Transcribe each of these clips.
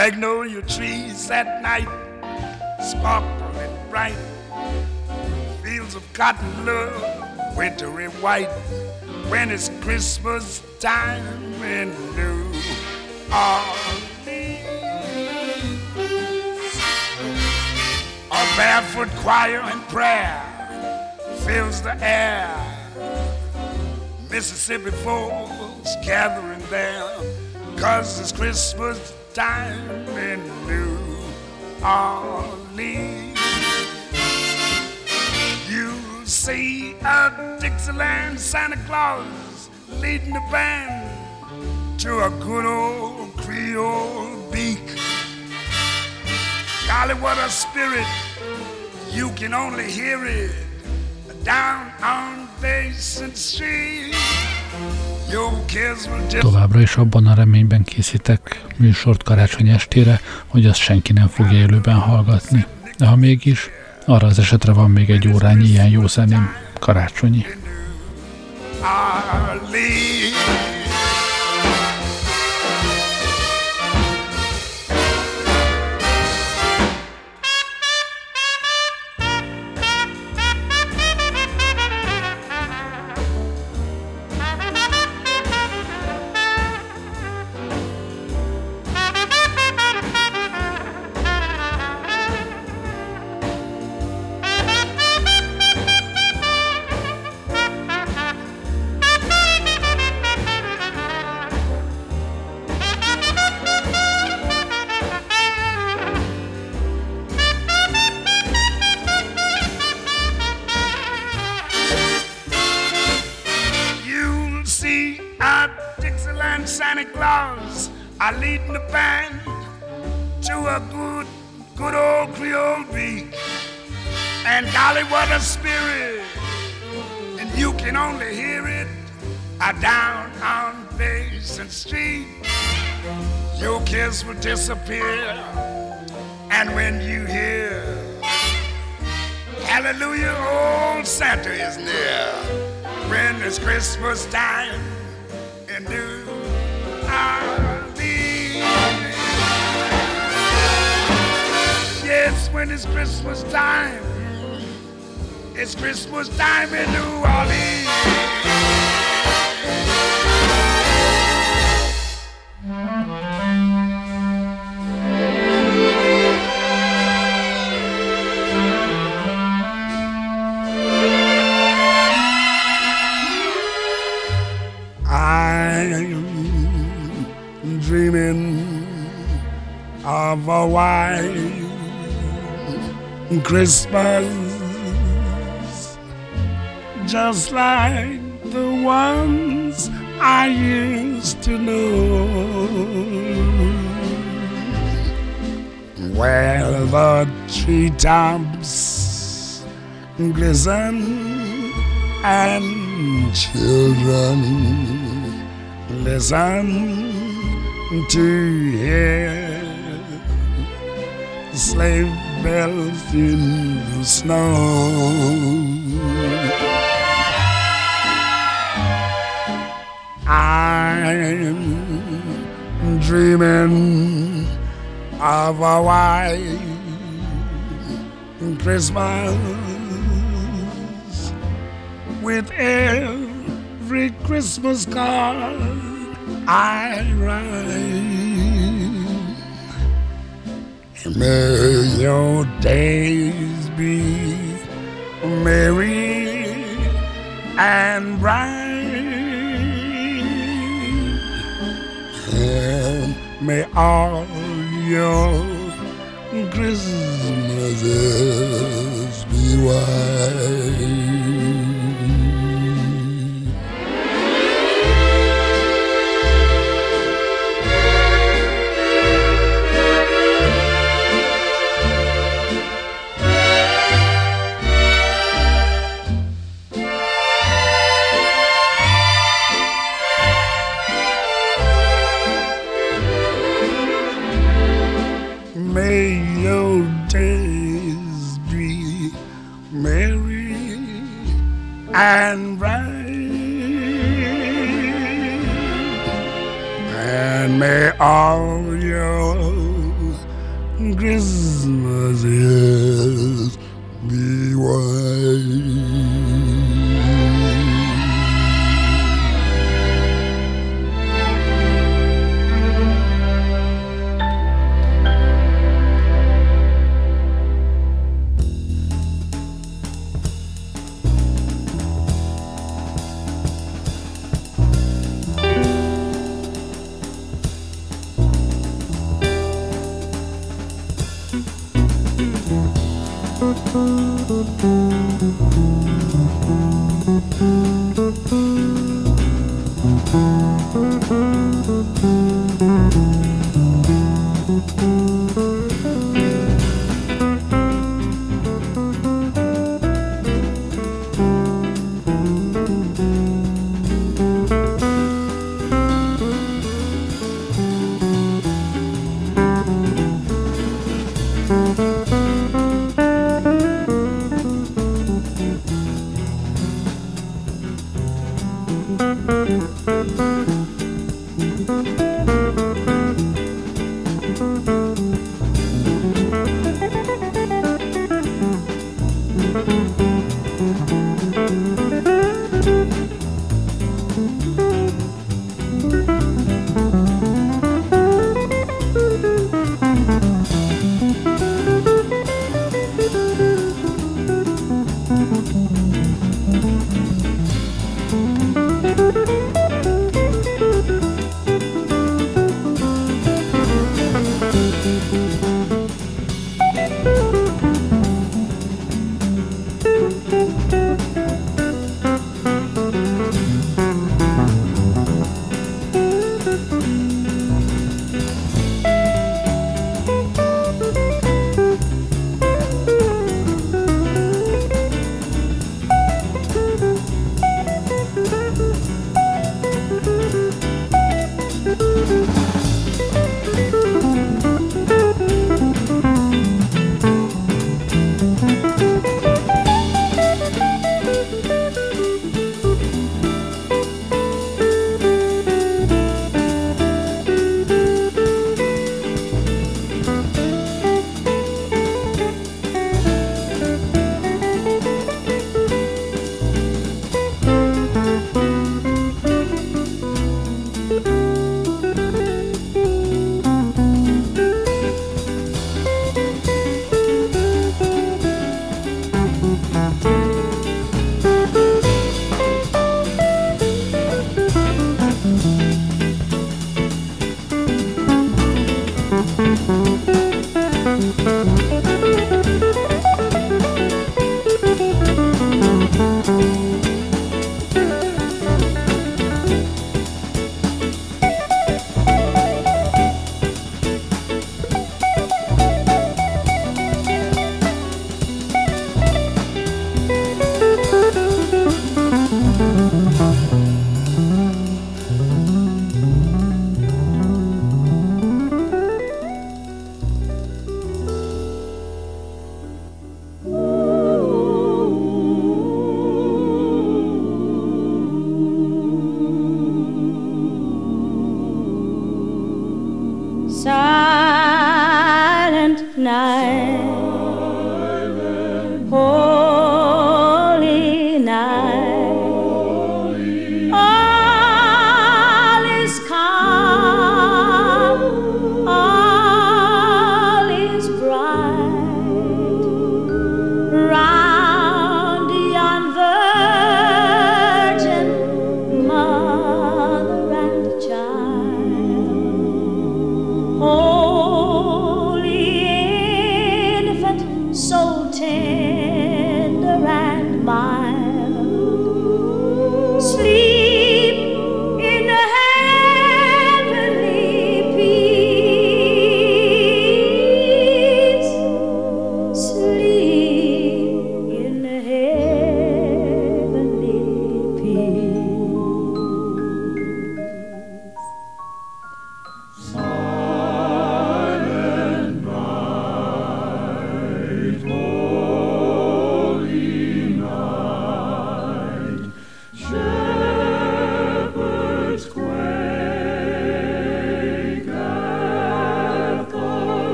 Magnolia trees at night sparkle and bright. Fields of cotton look wintry white when it's Christmas time in New Orleans. A barefoot choir and prayer fills the air. Mississippi folks gathering there, 'cause it's Christmas time in New Orleans. You see a Dixieland Santa Claus leading the band to a good old Creole beak. Golly, what a spirit, you can only hear it down on Basin Street. Továbbra is abban a reményben készítek műsort karácsony estére, hogy azt senki nem fogja élőben hallgatni. De ha mégis, arra az esetre van még egy órányi ilyen jó zeném, karácsonyi. Santa Claus are leading the band to a good old Creole beat. And golly, what a spirit, and you can only hear it down on Basin Street. Your kiss will disappear, and when you hear hallelujah, old Santa is near. When it's Christmas time in New Orleans. Yes, when it's Christmas time, it's Christmas time in New Orleans. I'm dreaming of a white Christmas, just like the ones I used to know, where the treetops glisten and children listen to hear sleigh bells in the snow. I'm dreaming of a white Christmas with every Christmas card I write. May your days be merry and bright, and may all your Christmases be white. May your days be merry and bright, and may all your Christmas is me white.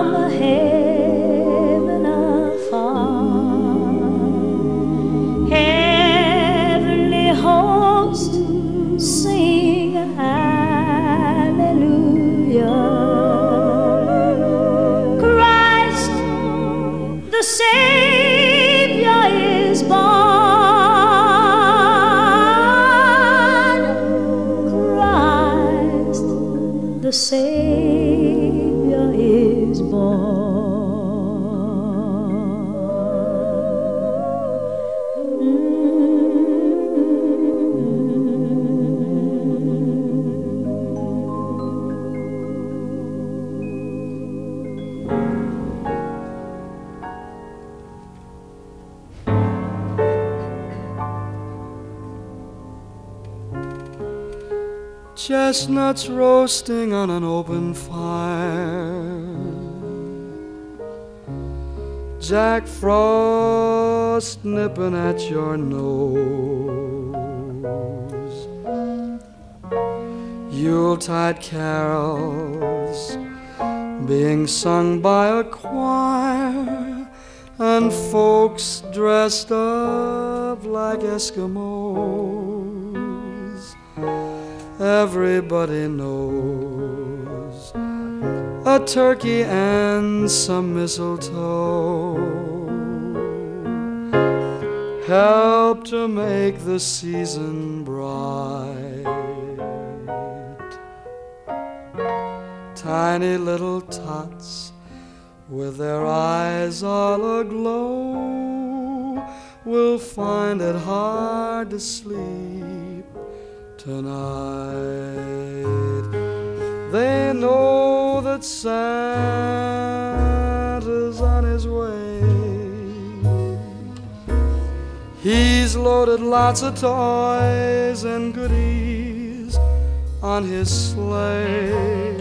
heaven afar. Heavenly host sing hallelujah. Christ the Savior is born. Christ the Savior is born. Chestnuts roasting on an open fire, Jack Frost nipping at your nose, Yuletide carols being sung by a choir, and folks dressed up like Eskimos. Everybody knows a turkey and some mistletoe help to make the season bright. Tiny little tots with their eyes all aglow will find it hard to sleep tonight. They know that Santa's on his way. He's loaded lots of toys and goodies on his sleigh,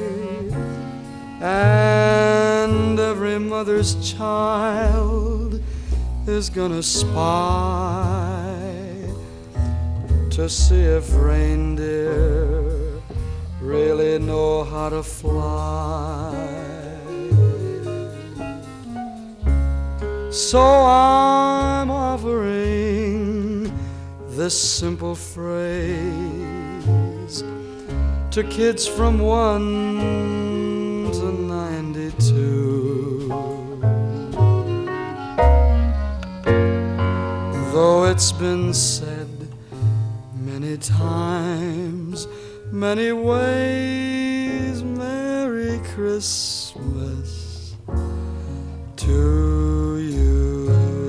and every mother's child is gonna spy to see if reindeer really know how to fly. So I'm offering this simple phrase to kids from 1 to 92. Though it's been said many times, many ways, Merry Christmas to you.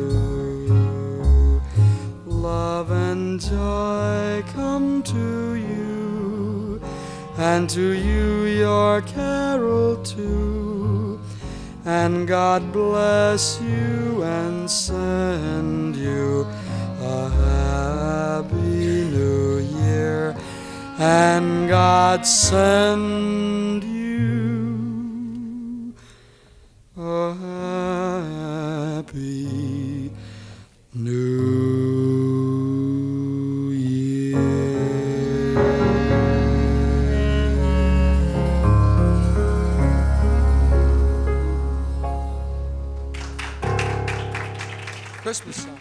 Love and joy come to you, and to you your carol too. And God bless you and send you a happy New Year, and God send you a happy New Year. Christmas song.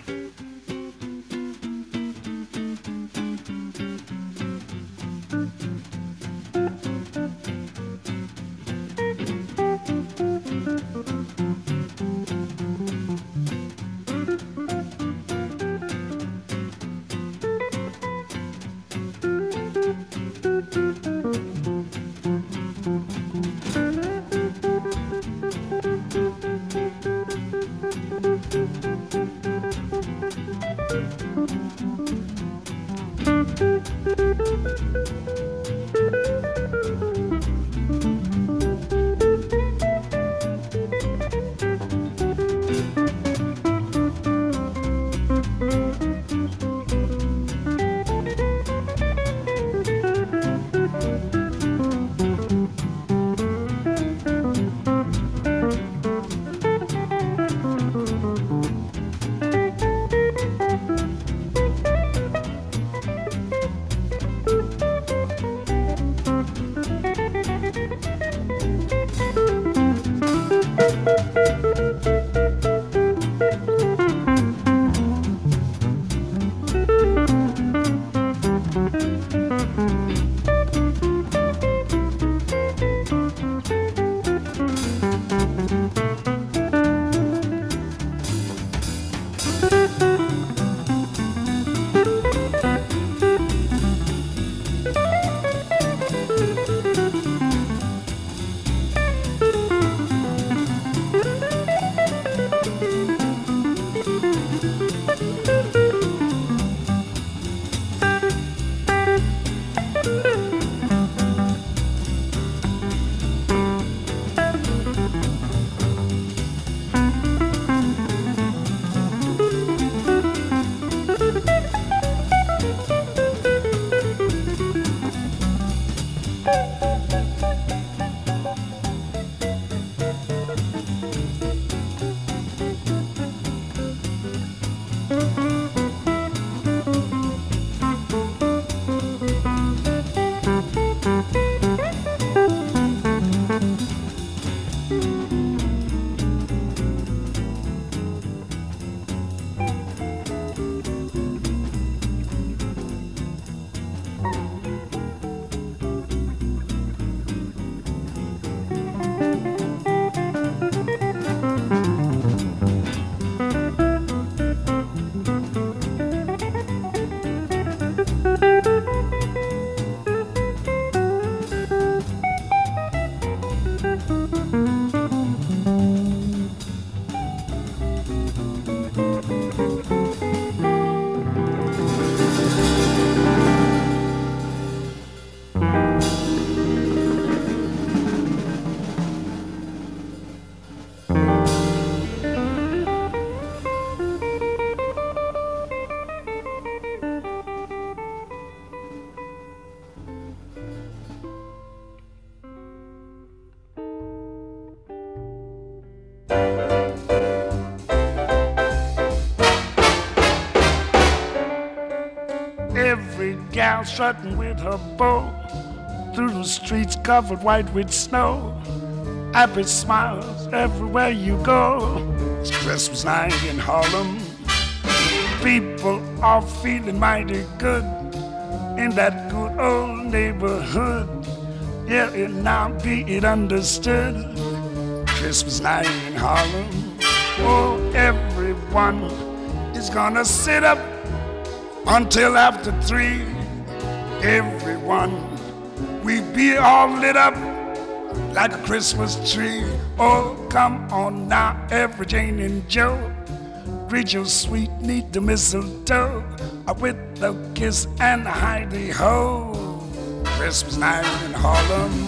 gal strutting with her bow through the streets covered white with snow. Happy smiles everywhere you go. It's Christmas night in Harlem. People are feeling mighty good in that good old neighborhood. Yeah, and now be it understood. Christmas night in Harlem. Oh, everyone is gonna sit up until after 3. Everyone, we be all lit up like a Christmas tree. Oh, come on now, every Jane and Joe, greet your sweet, neat the mistletoe with the kiss and the hidey-ho. Christmas night in Harlem.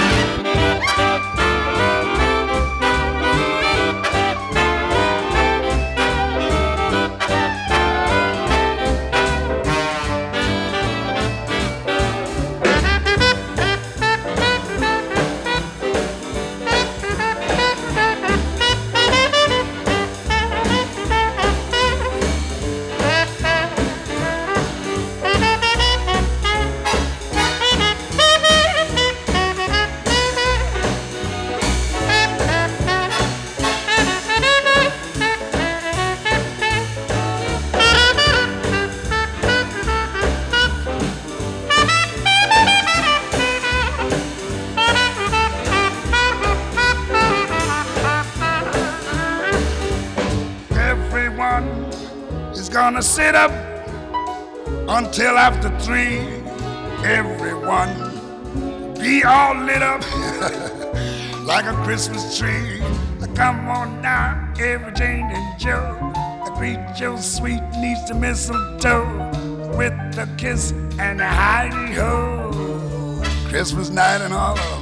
Gonna sit up until after 3. Everyone be all lit up like a Christmas tree. Come on now, every Jane and Joe, greet your sweet niece the mistletoe with the kiss and the hidey-ho. Christmas night in Harlem.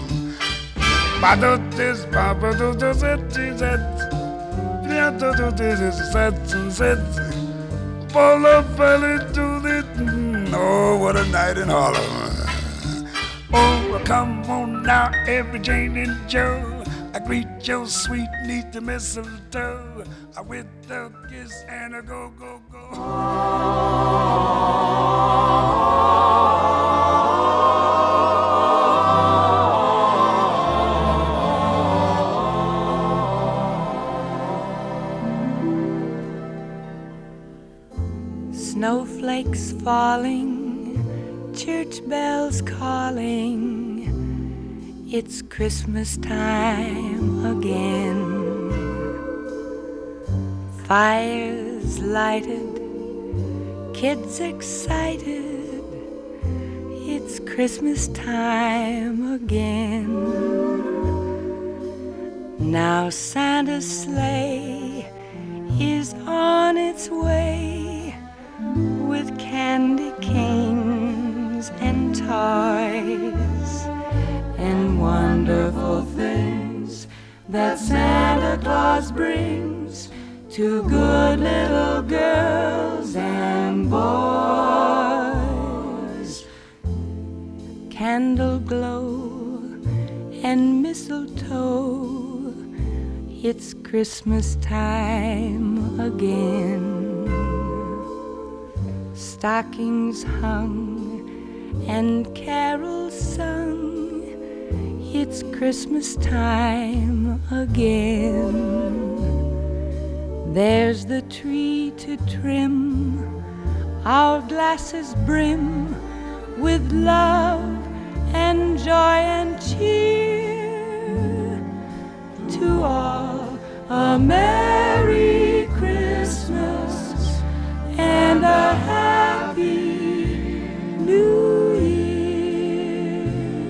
Oh, what a night in Harlem. Oh, come on now, every Jane and Joe, I greet your sweet niece the mistletoe with the kiss and a go, go, go. Snowflakes falling, church bells calling, it's Christmas time again. Fires lighted, kids excited, it's Christmas time again. Now Santa's sleigh is on its way with candy canes and toys and wonderful things that Santa Claus brings to good little girls and boys. Candle glow and mistletoe, it's Christmas time again. Stockings hung and carols sung, it's Christmas time again. There's the tree to trim, our glasses brim with love and joy and cheer. To all a Merry Christmas and a Happy New Year.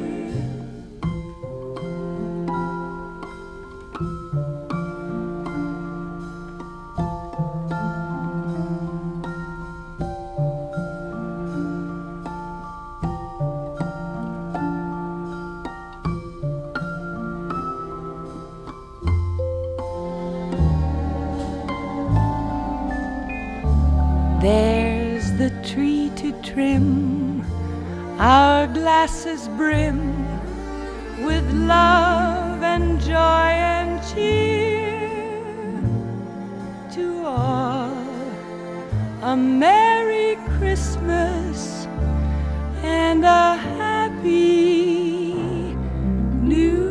There's the tree to trim, our glasses brim with love and joy and cheer. To all a Merry Christmas and a happy new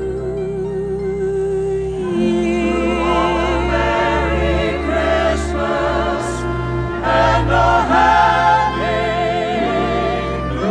year. Oh, Merry Christmas and a happy new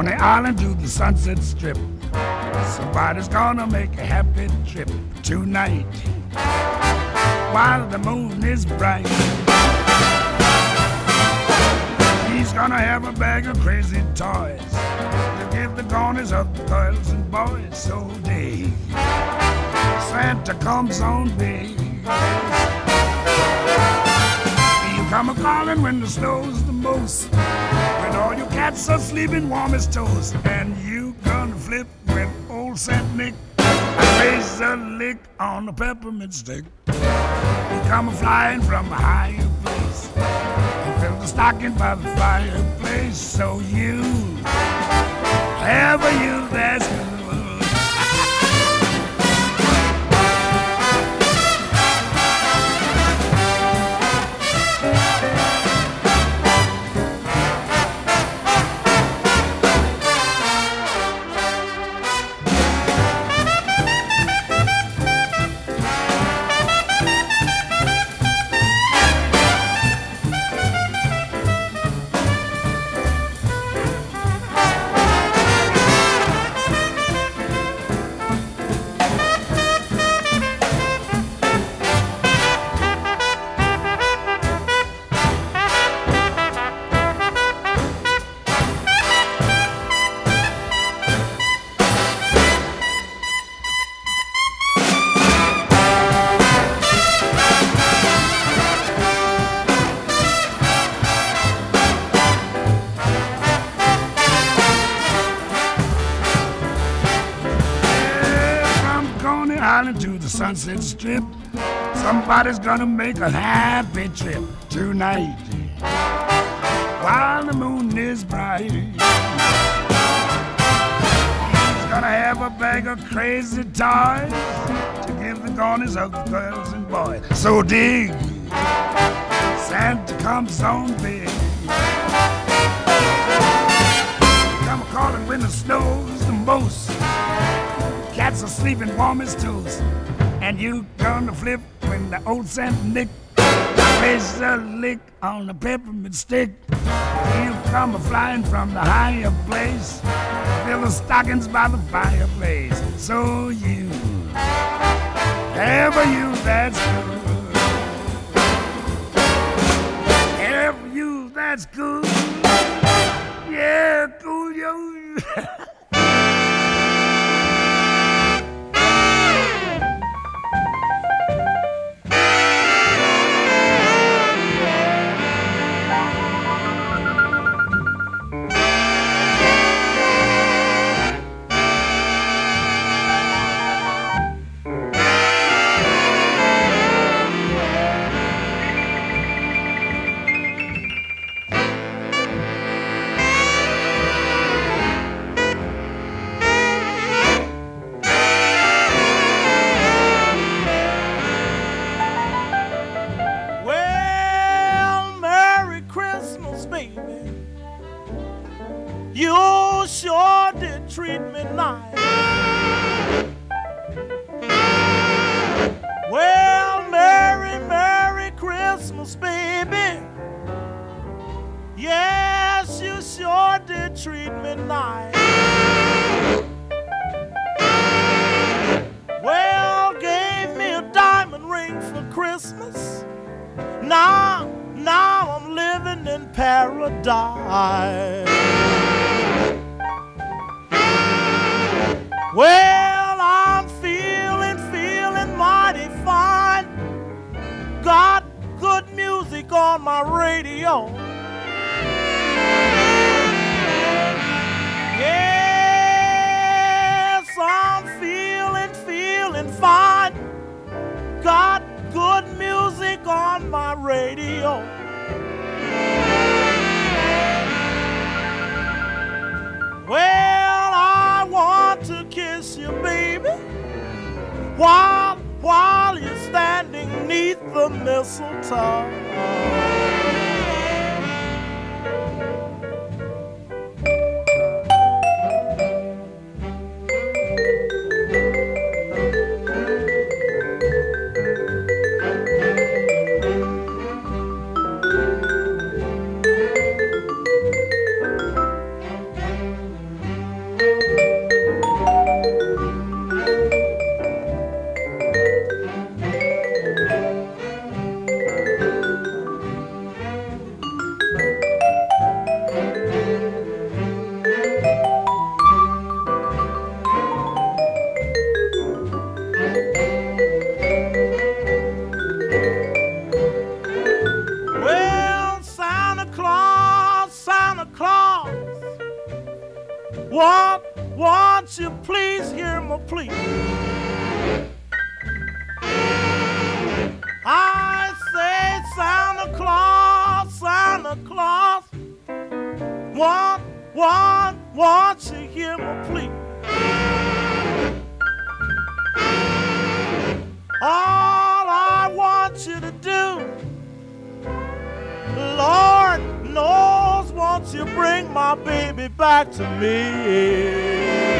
Coney Island to the Sunset Strip. Somebody's gonna make a happy trip tonight while the moon is bright. He's gonna have a bag of crazy toys to give the corners of the girls and boys. So dig, Santa comes on big. You come a-calling when the snow's the most, when all your cats are sleeping warm as toast, and you gonna flip when old Saint Nick raise a lick on the peppermint stick. You come a-flying from a higher place, you fill the stocking by the fireplace. So you have a you that's good. To the Sunset Strip, somebody's gonna make a happy trip tonight while the moon is bright. He's gonna have a bag of crazy toys to give the corners of the girls and boys. So dig, Santa comes on big. Come a-calling when the snow's the most, cats are sleeping warm as toast, and you gonna flip when the old Saint Nick plays a lick on the peppermint stick. You come a-flying from the higher place, fill the stockings by the fireplace. So you have a you that's good, have a you that's good, yeah, cool yo. You sure did treat me nice. Well, Merry, Merry Christmas, baby. Yes, you sure did treat me nice. Well, gave me a diamond ring for Christmas. Now I'm living in paradise. Well, I'm feeling mighty fine. Got good music on my radio. Yes, I'm feeling fine. Got good music on my radio. Well, I want to kiss you, baby, while you're standing 'neath the mistletoe. promise you'll bring my baby back to me.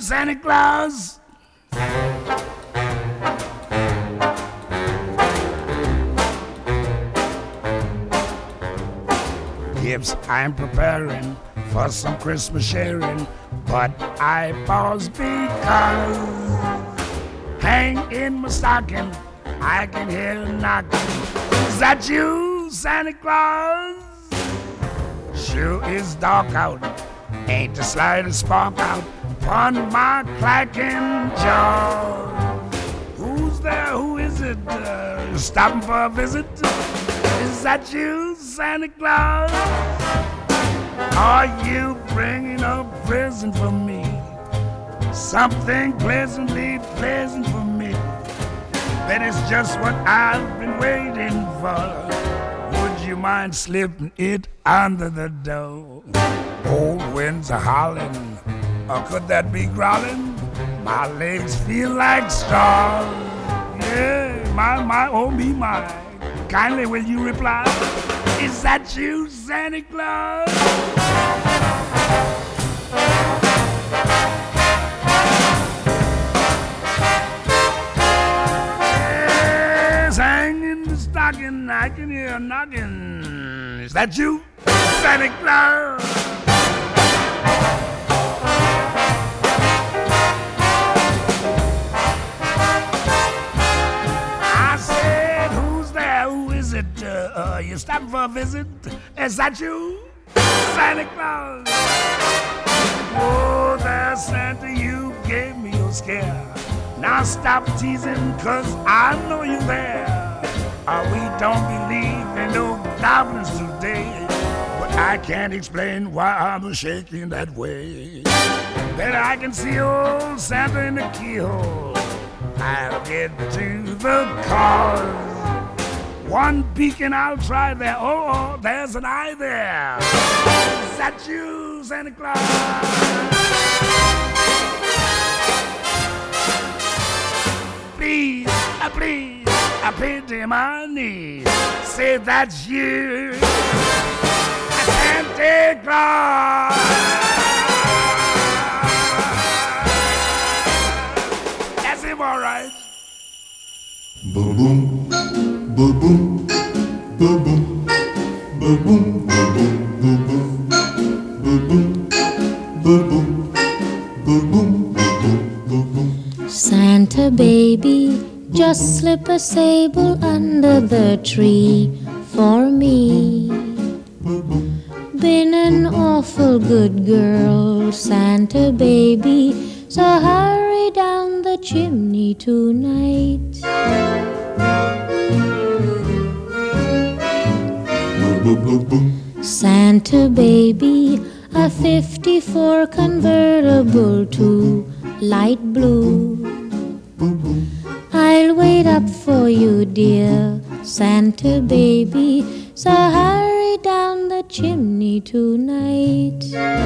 Santa Claus? Gifts I'm preparing for some Christmas sharing, but I pause because hang in my stocking, I can hear a knocking. Is that you, Santa Claus? Sure is dark out, ain't the slightest spark out upon my clacking jaw. Who's there? Who is it? Stopping for a visit? Is that you, Santa Claus? Are you bringing a present for me? Something pleasantly pleasant for me. That is just what I've been waiting for. Would you mind slipping it under the door? Old winds are howling, or could that be growling? My legs feel like straw. Yeah, my, oh me, my. Kindly will you reply? Is that you, Santa Claus? Yes, hang in the stocking, I can hear a knocking. Is that you, Santa Claus? You stopping for a visit? Is that you, Santa Claus? Oh, there, Santa, you gave me a scare. Now stop teasing, cause I know you're there. We don't believe in no goblins today, but I can't explain why I'm shaking that way. Better I can see old Santa in the keyhole. I'll get to the cause. One beacon I'll try there. Oh, there's an eye there. Is that you, Santa Claus? Please, please, I pity my knees. Say that's you, Santa Claus. That's him, all right. Boom, boom. Boom boom, boom boom, boom boom, boom boom, boom boom, boom boom, boom boom, boom boom. Santa baby, just slip a sable under the tree for me. Been an awful good girl, Santa baby, so hurry down the chimney tonight. Santa baby, a 54 convertible to light blue. I'll wait up for you, dear Santa baby, so hurry down the chimney tonight.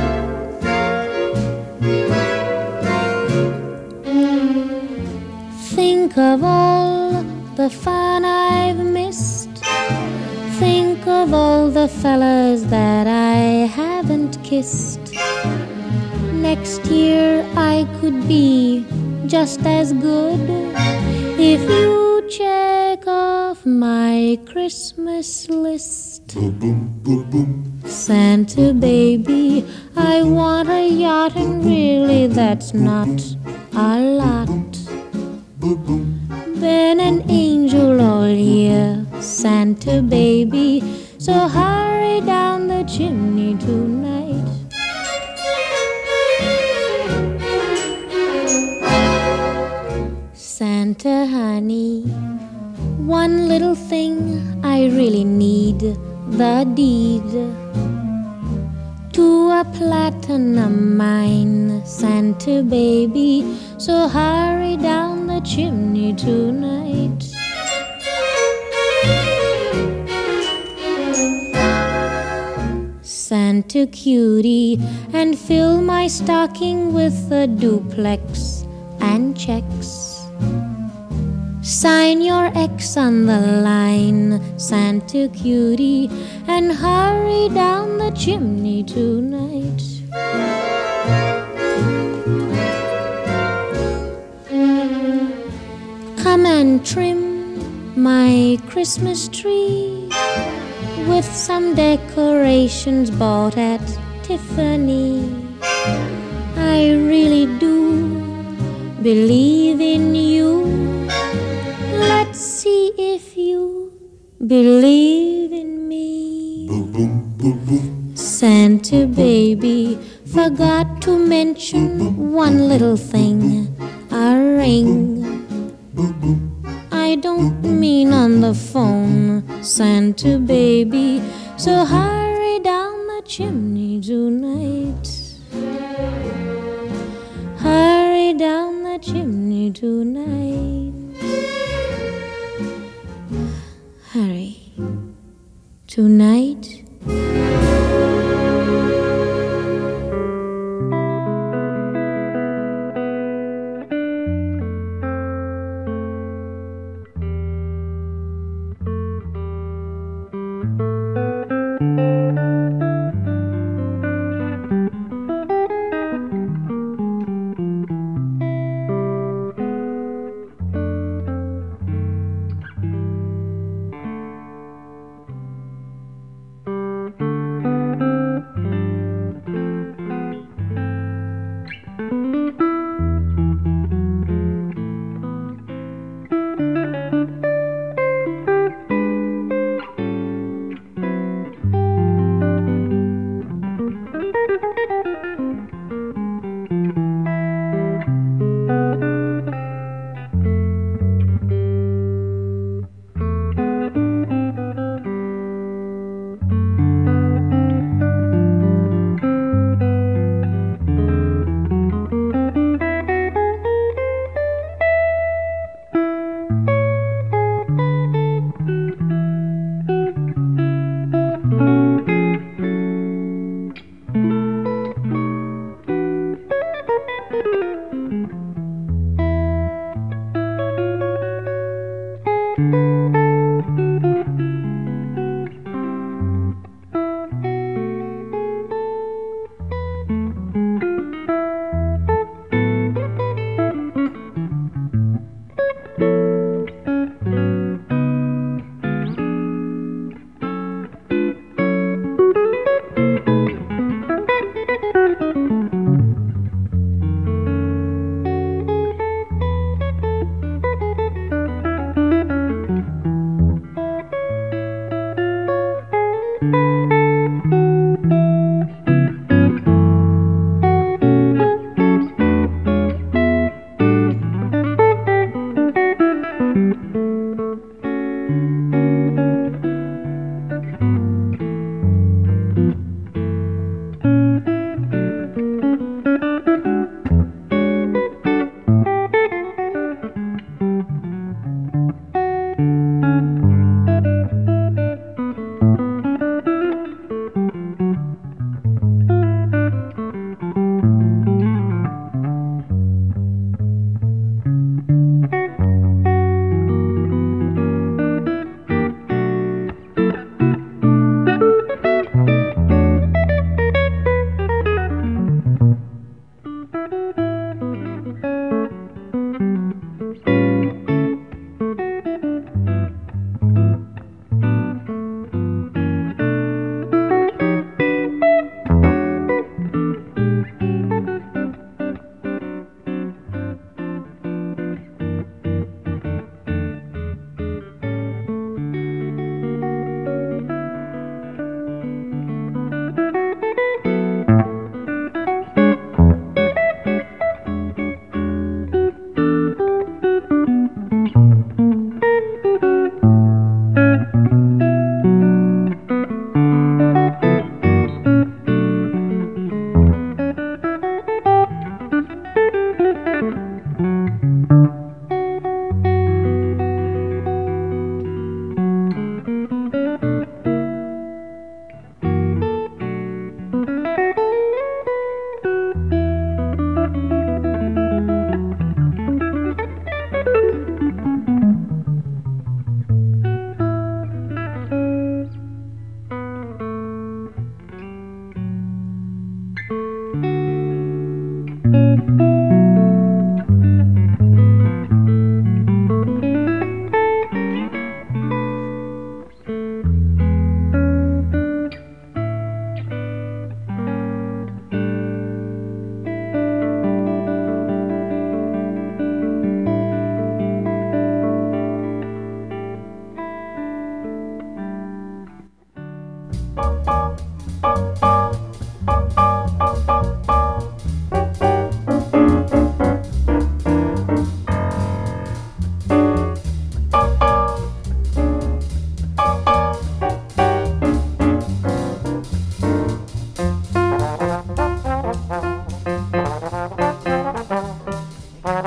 Think of all the fun I've missed. Think of all the fellas that I haven't kissed. Next year I could be just as good if you check off my Christmas list. Santa baby, I want a yacht, and really that's not a lot. Been an angel all year, Santa baby, so hurry down the chimney tonight. Santa honey, one little thing I really need, the deed to a platinum mine, Santa baby, so hurry down the chimney tonight. Santa cutie, and fill my stocking with a duplex and checks. Sign your X on the line, Santa cutie, and hurry down the chimney tonight. Come and trim my Christmas tree with some decorations bought at Tiffany. I really do believe in you. Let's see if you believe in me. Santa baby forgot to mention one little thing, a ring. I don't mean on the phone, Santa baby, so hurry down the chimney tonight. Hurry down the chimney tonight. Hurry. Tonight.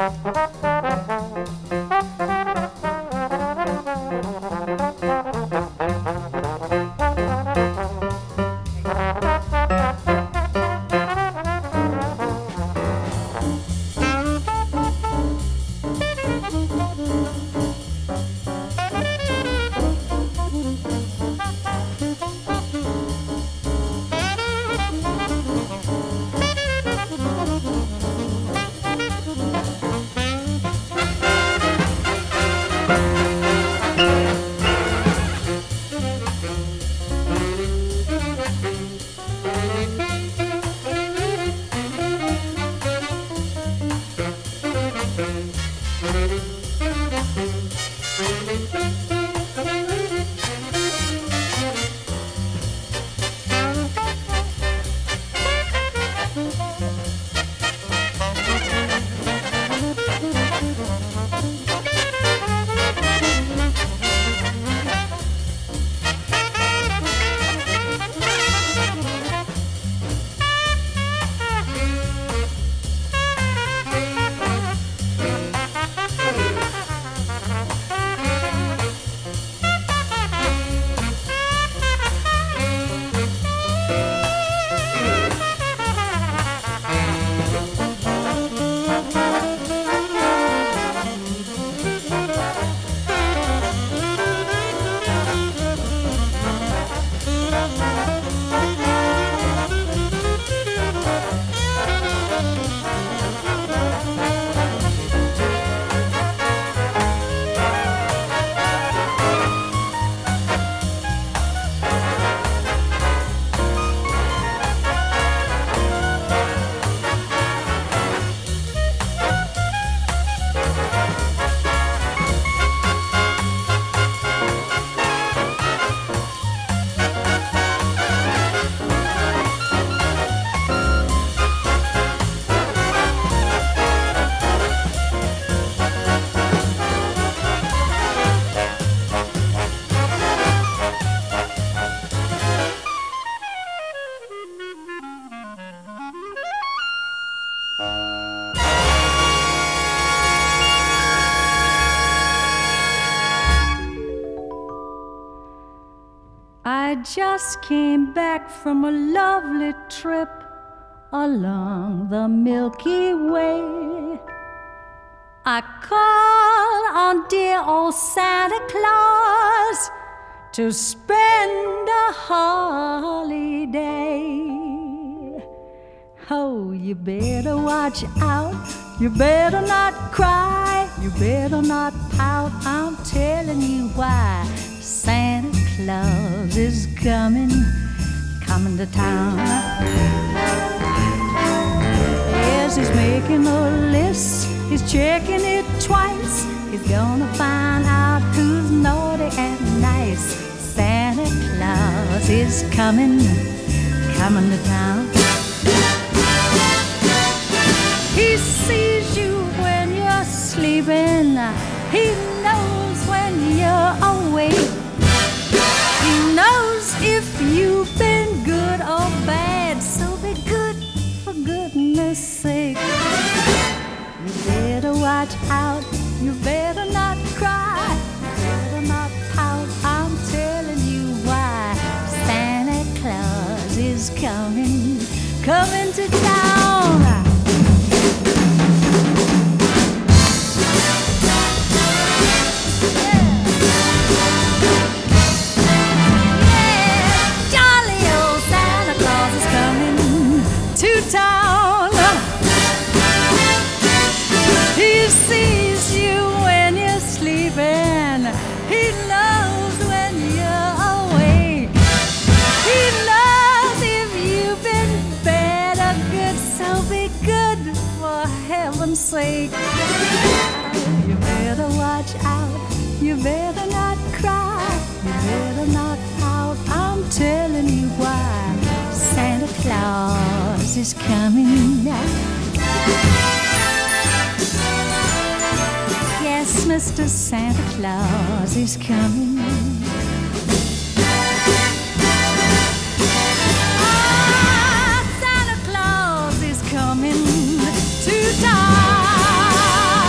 I just came back from a lovely trip along the Milky Way. I called on dear old Santa Claus to spend a holiday. Oh, you better watch out, you better not cry, you better not pout, I'm telling you why. Santa Claus is coming to town. Yes, he's making a list, he's checking it twice. He's gonna find out who's naughty and nice. Santa Claus is coming to town. He sees you when you're sleeping, he knows when you're awake. He knows if you've been good or bad, so be good for goodness sake. You better watch out, you better not cry, you better not pout, I'm telling you why. Santa Claus is coming to town. Town. He sees you when you're sleeping, he knows when you're awake. He knows if you've been bad or good, so be good for heaven's sake. You better watch out, you better not cry, you better not pout, I'm telling you why. Santa Claus is coming now. Yes, Mr. Santa Claus is coming. Ah, Santa Claus is coming to town.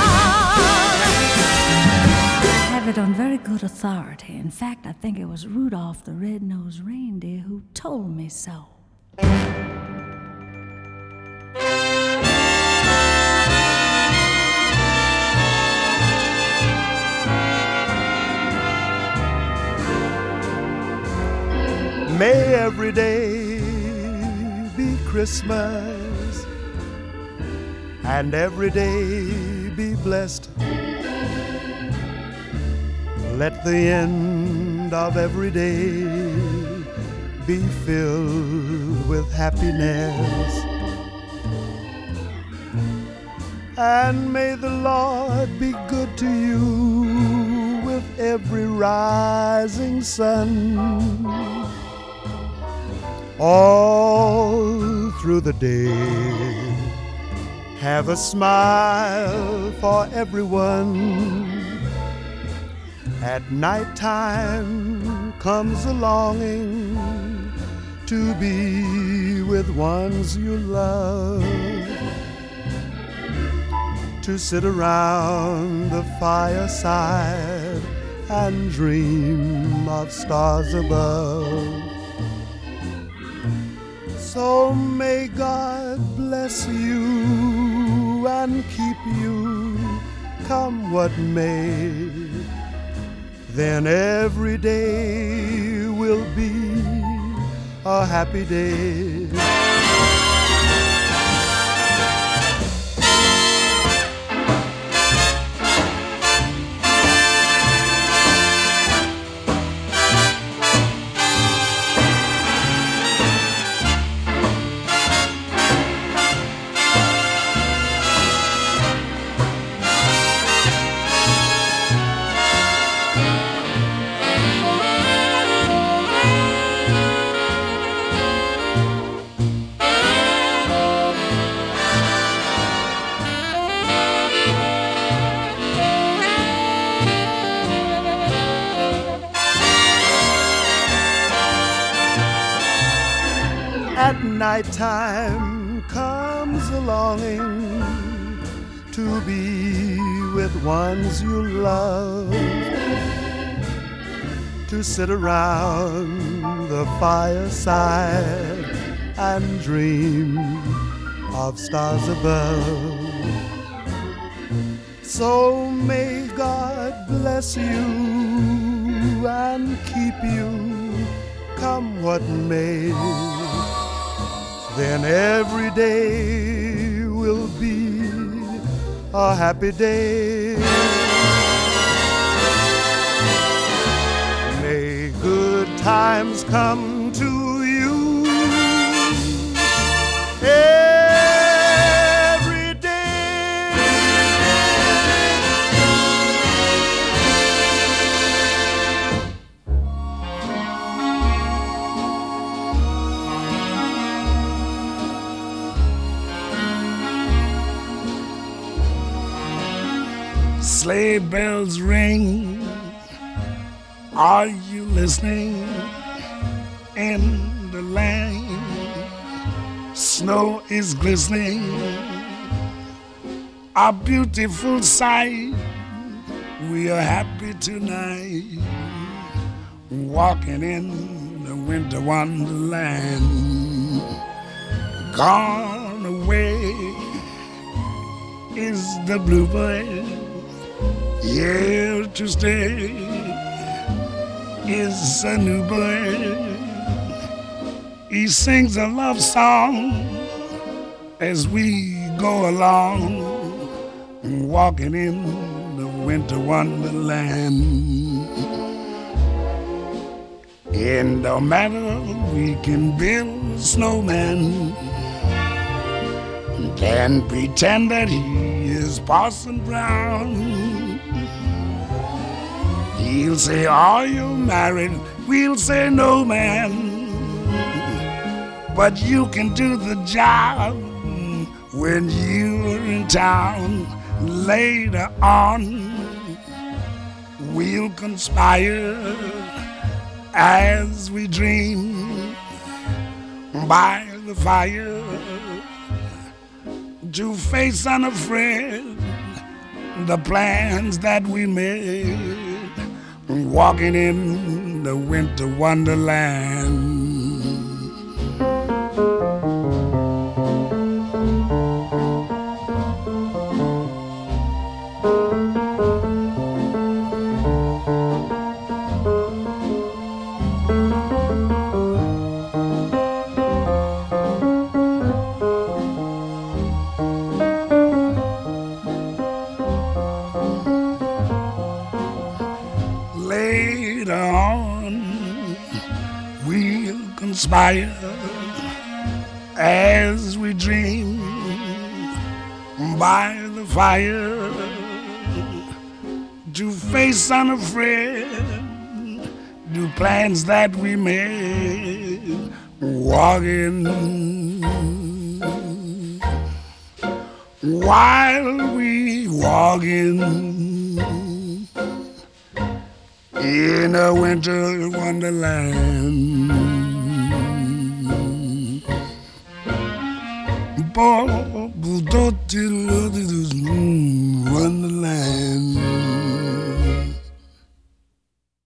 it on very good authority. In fact, I think it was Rudolph the Red-Nosed Reindeer who told me so. May every day be Christmas and every day be blessed. Let the end of every day be filled with happiness. And may the Lord be good to you with every rising sun. All through the day, have a smile for everyone. At night time comes a longing to be with ones you love, to sit around the fireside and dream of stars above. So may God bless you and keep you, come what may. Then every day will be a happy day. At night time comes a longing to be with ones you love, to sit around the fireside and dream of stars above. So may God bless you and keep you, come what may. Then every day will be a happy day. May good times come to you every day. Sleigh bells ring, are you listening? In the lane, snow is glistening, a beautiful sight. We are happy tonight, walking in the winter wonderland. Gone away is the bluebird, here to stay is a new bird. He sings a love song as we go along, walking in the winter wonderland. And no matter, we can build a snowman and pretend that he is Parson Brown. He'll say, are you married? We'll say, no, man. But you can do the job when you're in town. Later on, we'll conspire as we dream by the fire to face unafraid the plans that we made. walking in the winter wonderland. Later on, we'll conspire as we dream by the fire to face unafraid the plans that we made, walking while we walking in a winter wonderland. Wonderland.